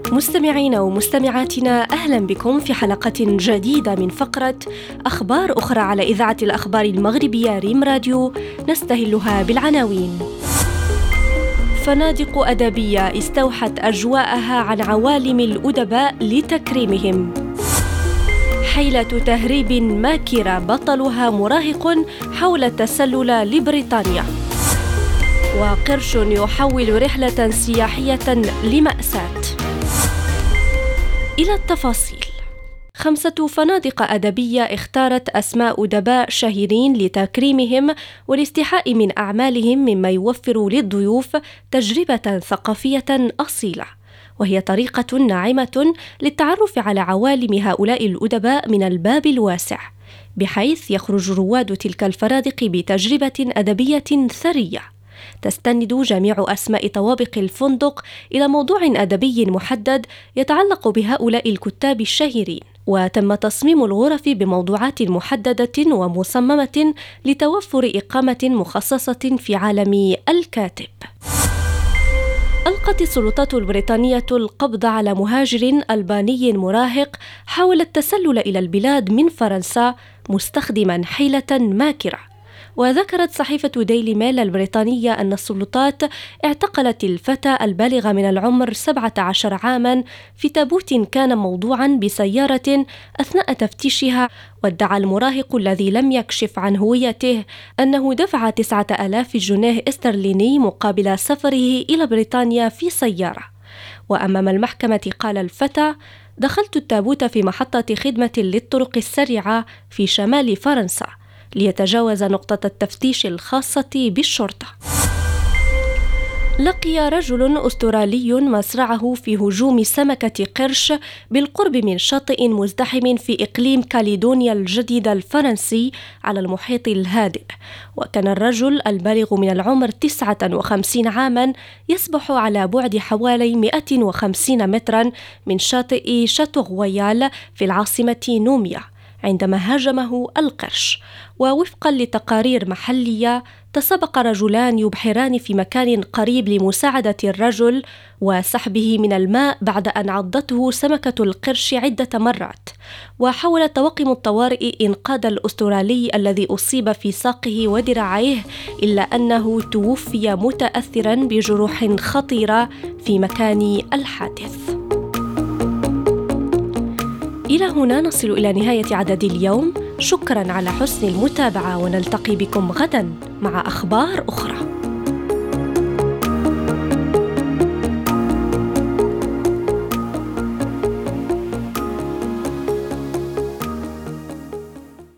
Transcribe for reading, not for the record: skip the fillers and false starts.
مستمعينا ومستمعاتنا، أهلا بكم في حلقة جديدة من فقرة أخبار أخرى على إذاعة الأخبار المغربية ريم راديو، نستهلها بالعناوين. فنادق أدبية استوحت أجواءها عن عوالم الأدباء لتكريمهم. حيلة تهريب ماكرة بطلها مراهق حول التسلل لبريطانيا. وقرش يحول رحلة سياحية لمأساة. إلى التفاصيل. 5 فنادق أدبية اختارت أسماء أدباء شهيرين لتكريمهم والاستحاء من أعمالهم، مما يوفر للضيوف تجربة ثقافية أصيلة، وهي طريقة ناعمة للتعرف على عوالم هؤلاء الأدباء من الباب الواسع، بحيث يخرج رواد تلك الفنادق بتجربة أدبية ثرية تستند جميع أسماء طوابق الفندق إلى موضوع أدبي محدد يتعلق بهؤلاء الكتاب الشهيرين، وتم تصميم الغرف بموضوعات محددة ومصممة لتوفر إقامة مخصصة في عالم الكاتب. ألقت السلطات البريطانية القبض على مهاجر ألباني مراهق حاول التسلل إلى البلاد من فرنسا مستخدما حيلة ماكرة. وذكرت صحيفة ديلي ميل البريطانية أن السلطات اعتقلت الفتى البالغ من العمر 17 عاما في تابوت كان موضوعا بسيارة أثناء تفتيشها، وادعى المراهق الذي لم يكشف عن هويته أنه دفع 9000 جنيه استرليني مقابل سفره إلى بريطانيا في سيارة. وأمام المحكمة قال الفتى: دخلت التابوت في محطة خدمة للطرق السريعة في شمال فرنسا ليتجاوز نقطة التفتيش الخاصة بالشرطة. لقي رجل أسترالي مصرعه في هجوم سمكة قرش بالقرب من شاطئ مزدحم في إقليم كاليدونيا الجديدة الفرنسي على المحيط الهادئ. وكان الرجل البالغ من العمر 59 عاما يسبح على بعد حوالي 150 مترا من شاطئ شاتو غويال في العاصمة نوميا عندما هاجمه القرش. ووفقا لتقارير محلية، تسابق رجلان يبحران في مكان قريب لمساعدة الرجل وسحبه من الماء بعد أن عضته سمكة القرش عدة مرات. وحاول طواقم الطوارئ إنقاذ الأسترالي الذي أصيب في ساقه وذراعيه، إلا أنه توفي متأثرا بجروح خطيرة في مكان الحادث. إلى هنا نصل إلى نهاية عدد اليوم. شكرا على حسن المتابعة، ونلتقي بكم غدا مع أخبار أخرى.